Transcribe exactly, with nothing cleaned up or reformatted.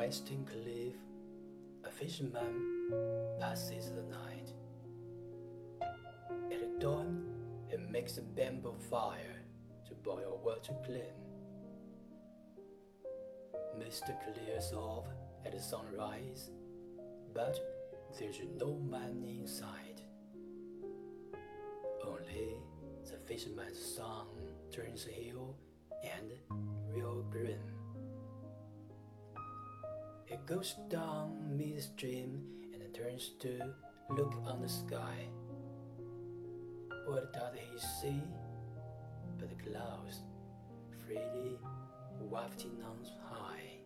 western cliff, a fisherman passes the night. At dawn, he makes a bamboo fire to boil water clean. Mist clears off at sunrise, but there's no man inside. Only the fisherman's son turns pale and real grim. He goes down midstream and turns to look on the sky. What does he see but the clouds freely wafting on high?